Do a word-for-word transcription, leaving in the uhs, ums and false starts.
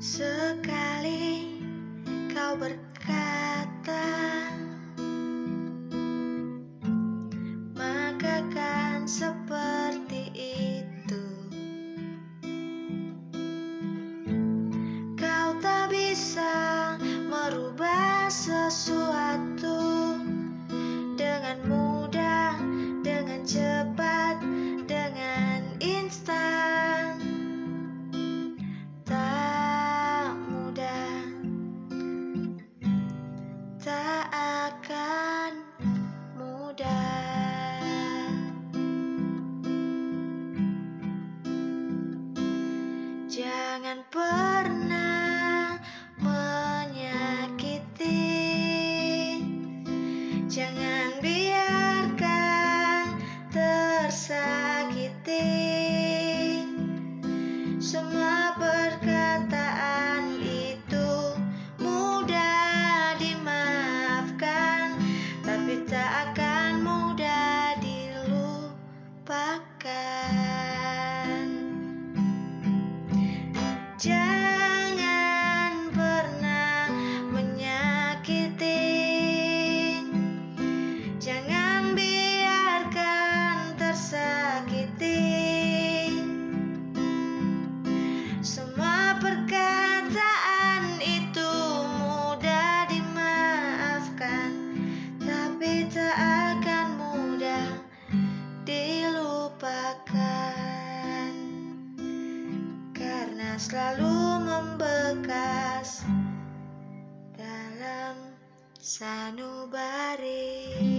Sekali kau berkata, maka kan seperti itu. Kau tak bisa merubah sesuatu dengan mudah, dengan cepat, dengan instan. Tak mudah, tak akan mudah. Jangan pernah menyakiti, jangan biarkan tersakiti. Semua perkataan itu mudah dimaafkan, tapi tak akan mudah dilupakan. Jangan pernah menyakiti, jangan biarkan tersakiti. Semua perkataan itu mudah dimaafkan, tapi tak akan mudah dilupakan, karena selalu membekas dalam sanubari.